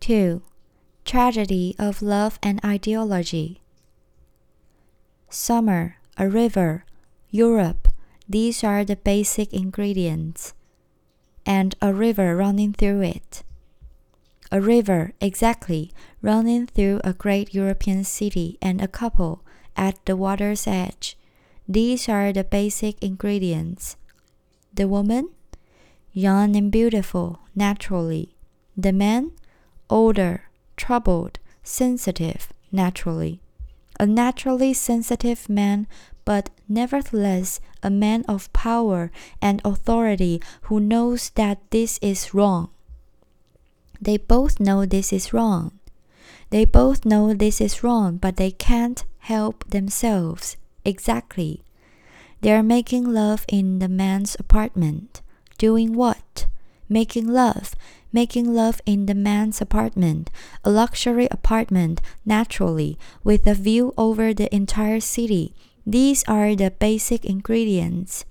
2. Tragedy of love and ideology. Summer, a river, Europe, these are the basic ingredients. And a river running through it. A river, exactly, running through a great European city and a couple at the water's edge. These are the basic ingredients. The woman? Young and beautiful, naturally. The man? Older, troubled, sensitive, naturally. A naturally sensitive man, but nevertheless a man of power and authority who knows that this is wrong. They both know this is wrong. They both know this is wrong, but they can't help themselves. Exactly. They are making love in the man's apartment. Doing what? Making love. Making love in the man's apartment, a luxury apartment, naturally, with a view over the entire city. These are the basic ingredients.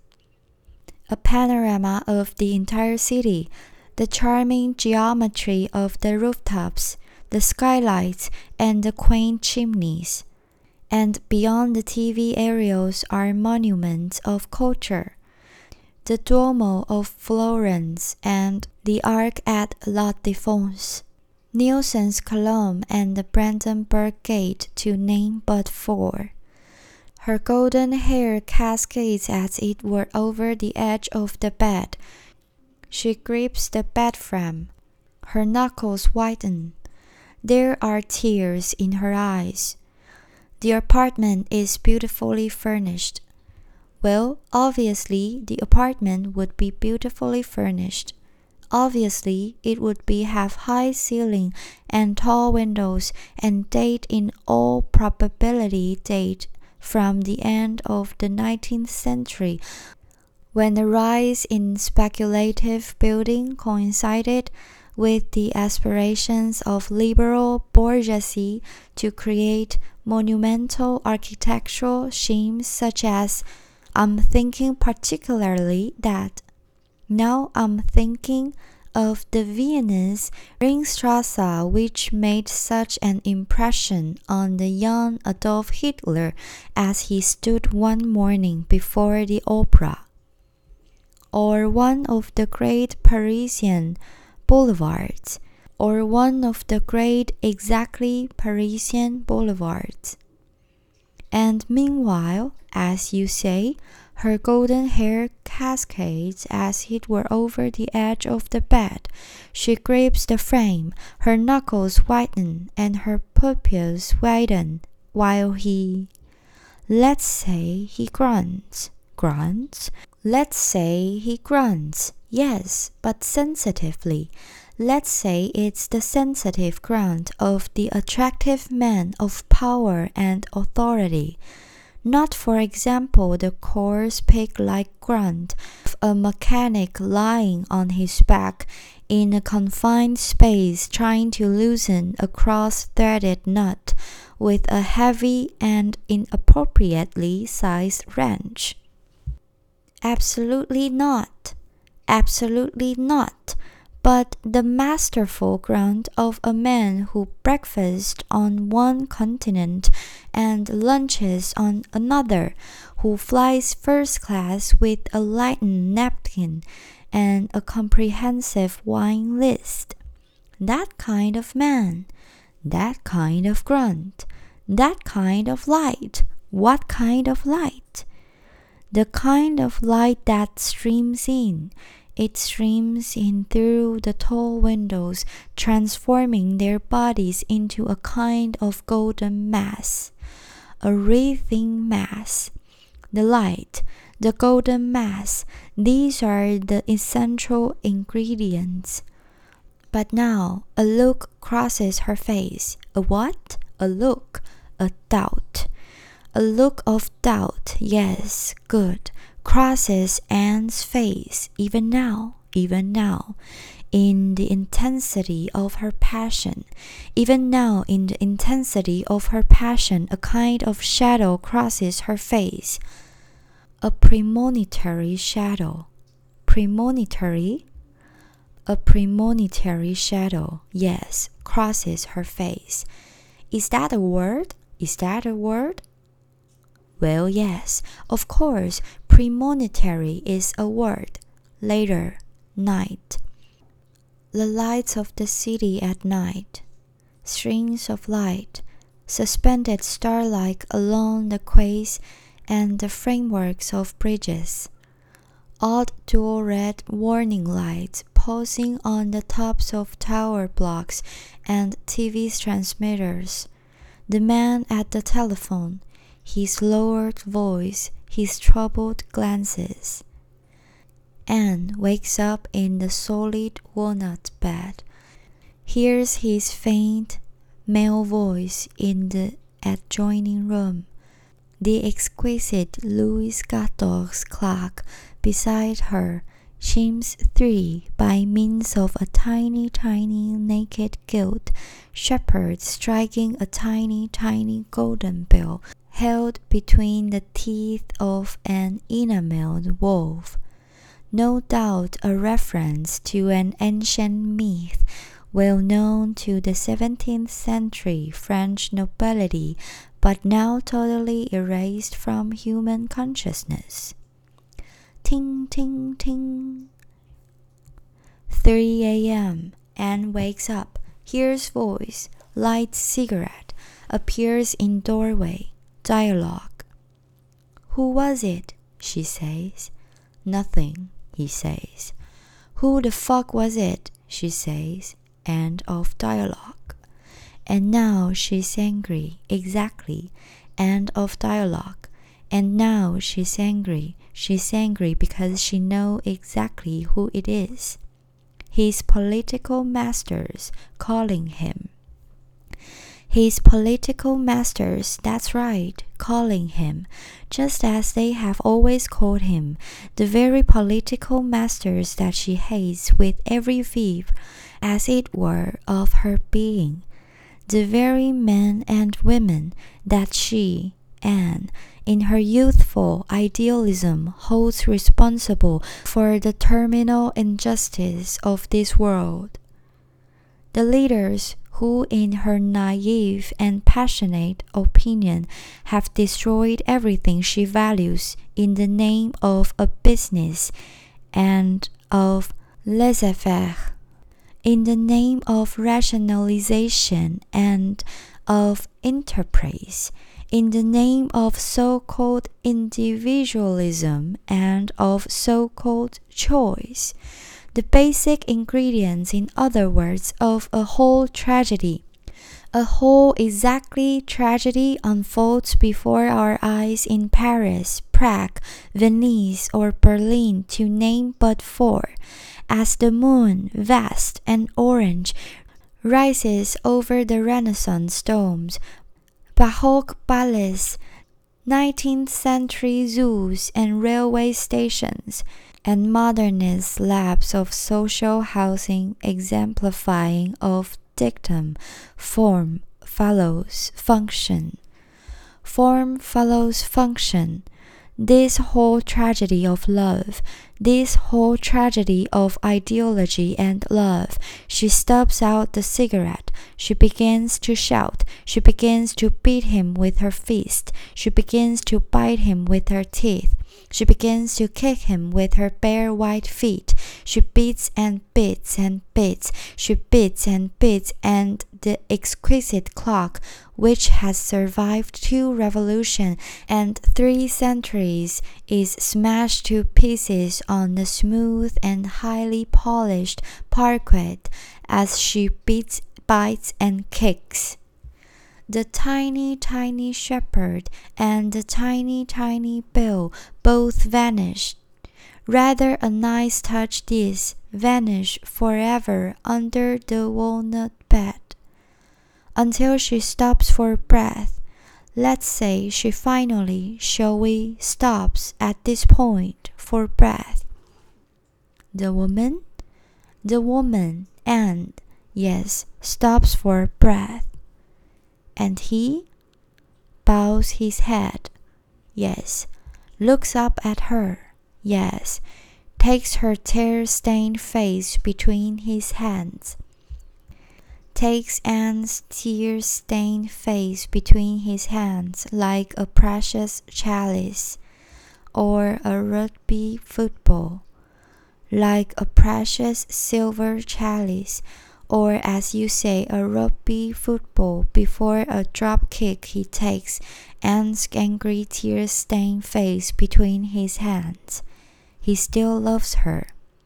A panorama of the entire city, the charming geometry of the rooftops, the skylights, and the quaint chimneys. And beyond the TV aerials are monuments of culture. The Duomo of Florence and the Arc at La Défense, Nielsen's Column and the Brandenburg Gate, to name but four. Her golden hair cascades as it were over the edge of the bed. She grips the bed frame. Her knuckles whiten. There are tears in her eyes. The apartment is beautifully furnished. Well, obviously, the apartment would be beautifully furnished. Obviously, it would have high ceiling and tall windows and date in all probability date from the end of the 19th century, when the rise in speculative building coincided with the aspirations of liberal bourgeoisie to create monumental architectural schemes such as I'm thinking particularly that. Now I'm thinking of the Viennese Ringstrasse, which made such an impression on the young Adolf Hitler as he stood one morning before the opera. Or one of the great Parisian boulevards, or one of the great exactly Parisian boulevards. And meanwhile, as you say, her golden hair cascades as it were over the edge of the bed. She grips the frame, her knuckles whiten and her pupils widen, while let's say he grunts. Grunts? Let's say he grunts. Yes, but sensitively. Let's say it's the sensitive grunt of the attractive man of power and authority. Not, for example, the coarse pig-like grunt of a mechanic lying on his back in a confined space trying to loosen a cross-threaded nut with a heavy and inappropriately sized wrench. Absolutely not. Absolutely not. But the masterful grunt of a man who breakfasts on one continent and lunches on another, who flies first class with a lightened napkin and a comprehensive wine list. That kind of man, that kind of grunt, that kind of light. What kind of light? The kind of light that streams in. It streams in through the tall windows, transforming their bodies into a kind of golden mass, a wreathing mass. The light, the golden mass, these are the essential ingredients. But now a look crosses her face. A what? A look, a doubt. A look of doubt, yes, good. Crosses Anne's face, even now, in the intensity of her passion. Even now, in the intensity of her passion, a kind of shadow crosses her face. A premonitory shadow. Premonitory? A premonitory shadow, yes, crosses her face. Is that a word? Is that a word? Well, yes, of course, premonitory is a word. Later, night. The lights of the city at night. Strings of light, suspended star-like along the quays and the frameworks of bridges. Odd dual red warning lights pulsing on the tops of tower blocks and TV transmitters. The man at the telephone, his lowered voice, his troubled glances. Anne wakes up in the solid walnut bed, hears his faint male voice in the adjoining room. The exquisite Louis XIV clock beside her chimes 3 by means of a tiny naked gilt shepherd striking a tiny golden bell held between the teeth of an enameled wolf. No doubt a reference to an ancient myth well known to the 17th century French nobility, but now totally erased from human consciousness. Ting, ting, ting. 3 a.m. Anne wakes up, hears voice, lights cigarette, appears in doorway, dialogue. Who was it? She says. Nothing, he says. Who the fuck was it? She says. End of dialogue. And now she's angry, exactly. End of dialogue. And now she's angry. She's angry because she knows exactly who it is. His political masters calling him. His political masters, that's right, calling him, just as they have always called him, the very political masters that she hates with every fibre, as it were, of her being, the very men and women that she, Anne, in her youthful idealism holds responsible for the terminal injustice of this world. The leaders who in her naive and passionate opinion have destroyed everything she values in the name of a business and of laissez-faire, in the name of rationalization and of enterprise, in the name of so-called individualism and of so-called choice. The basic ingredients, in other words, of a whole tragedy. A whole exactly tragedy unfolds before our eyes in Paris, Prague, Venice, or Berlin, to name but four, as the moon, vast and orange, rises over the Renaissance domes, Baroque ballets, 19th century zoos and railway stations, and modernist labs of social housing exemplifying of dictum, form follows function. Form follows function. This whole tragedy of love, this whole tragedy of ideology and love. She stubs out the cigarette. She begins to shout. She begins to beat him with her fist. She begins to bite him with her teeth. She begins to kick him with her bare white feet. She beats and beats and beats. She beats and beats, and the exquisite clock, which has survived 2 revolutions and 3 centuries, is smashed to pieces on the smooth and highly polished parquet as she beats, bites, and kicks. The tiny shepherd and the tiny bell both vanished. Rather a nice touch this, vanish forever under the walnut bed. Until she stops for breath. Let's say she finally, shall we, stops at this point for breath. The woman? The woman, and, yes, stops for breath. And he bows his head, yes, looks up at her, yes, takes her tear-stained face between his hands. Takes Anne's tear-stained face between his hands like a precious chalice, or a rugby football, like a precious silver chalice, or as you say, a rugby football. Before a drop kick he takes Anne's angry tear-stained face between his hands. He still loves her.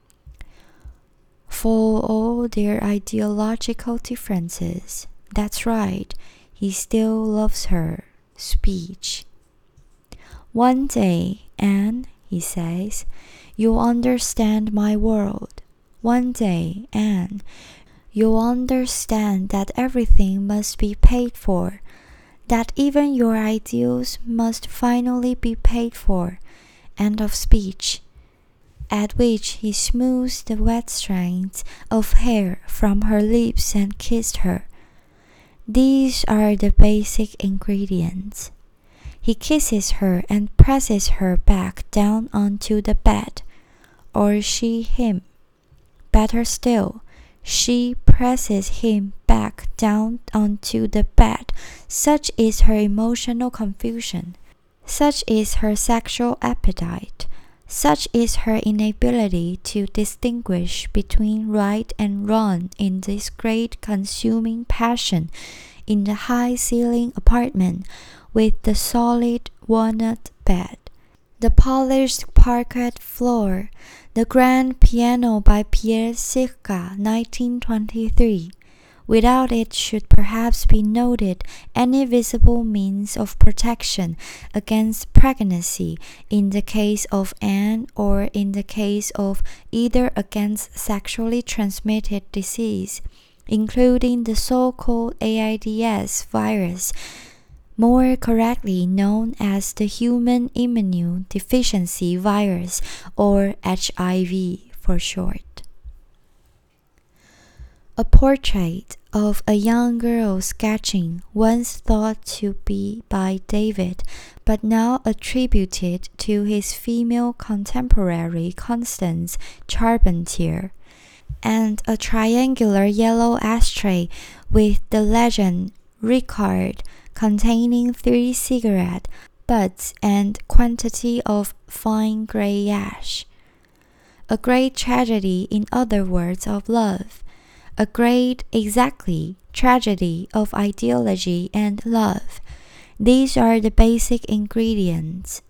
For all their ideological differences, that's right, he still loves her. Speech. One day, Anne, he says, you'll understand my world. One day, Anne, you'll understand that everything must be paid for, that even your ideals must finally be paid for. End of speech. At which he smoothed the wet strands of hair from her lips and kissed her. These are the basic ingredients. He kisses her and presses her back down onto the bed, or she him. Better still, she presses him back down onto the bed. Such is her emotional confusion. Such is her sexual appetite. Such is her inability to distinguish between right and wrong in this great consuming passion in the high-ceilinged apartment with the solid walnut bed, the polished parquet floor, the grand piano by Pierre Sicca, 1923. Without it should perhaps be noted any visible means of protection against pregnancy in the case of Anne, or in the case of either against sexually transmitted disease, including the so-called AIDS virus, more correctly known as the human immune deficiency virus, or HIV for short. A portrait of a young girl sketching, once thought to be by David, but now attributed to his female contemporary Constance Charpentier, and a triangular yellow ashtray with the legend Ricard, containing 3 cigarette butts and quantity of fine grey ash. A great tragedy, in other words, of love. A great, exactly, tragedy of ideology and love. These are the basic ingredients.